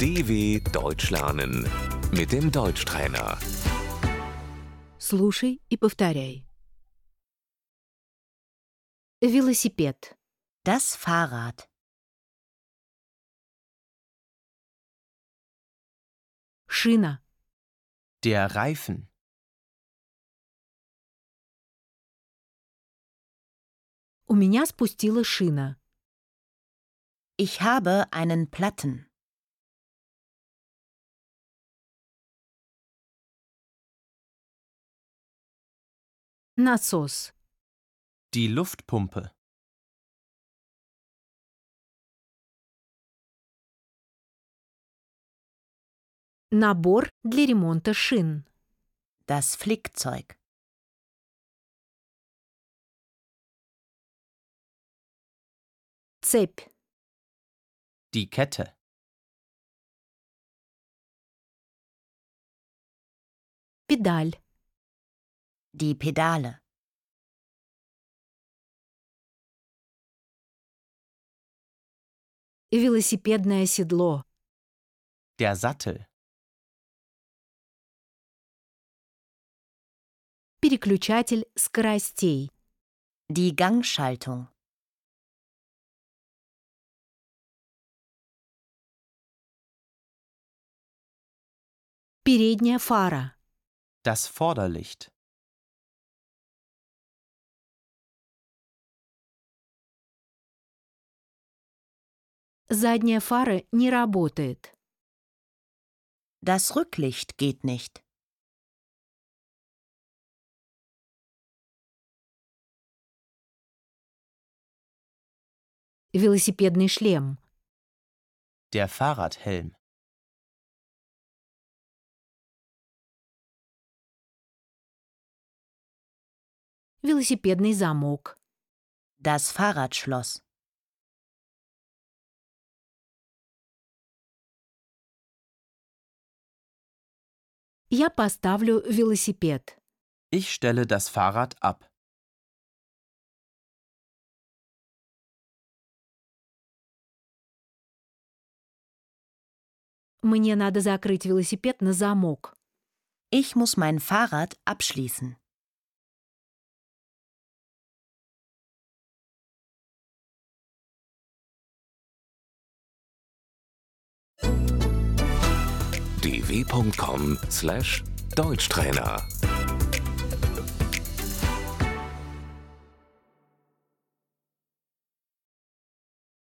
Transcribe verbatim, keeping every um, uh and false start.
D W Deutsch lernen mit dem Deutschtrainer. Слушай и повторяй. Велосипед. Das Fahrrad. Шина. Der Reifen. У меня спустила шина. Ich habe einen Platten. Насос. Die Luftpumpe. Набор для ремонта шин. Das Flickzeug. Цепь. Die Kette. Педаль. Die Pedale. Велосипедное седло. Der Sattel. Переключатель скоростей. Die Gangschaltung. Передняя фара. Das Vorderlicht. Задняя фара не работает. Das Rücklicht geht nicht. Велосипедный шлем. Der Fahrradhelm. Велосипедный замок. Das Fahrradschloss. Я поставлю велосипед. Ich stelle das Fahrrad ab. Мне надо закрыть велосипед на замок. Ich muss mein Fahrrad abschließen. d w punkt com slash Deutschtrainer